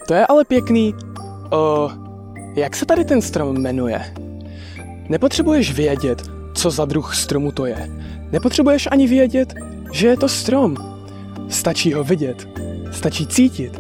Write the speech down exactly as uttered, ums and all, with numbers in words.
To je ale pěkný. O, jak se tady ten strom jmenuje? Nepotřebuješ vědět, co za druh stromu to je. Nepotřebuješ ani vědět, že je to strom. Stačí ho vidět. Stačí cítit,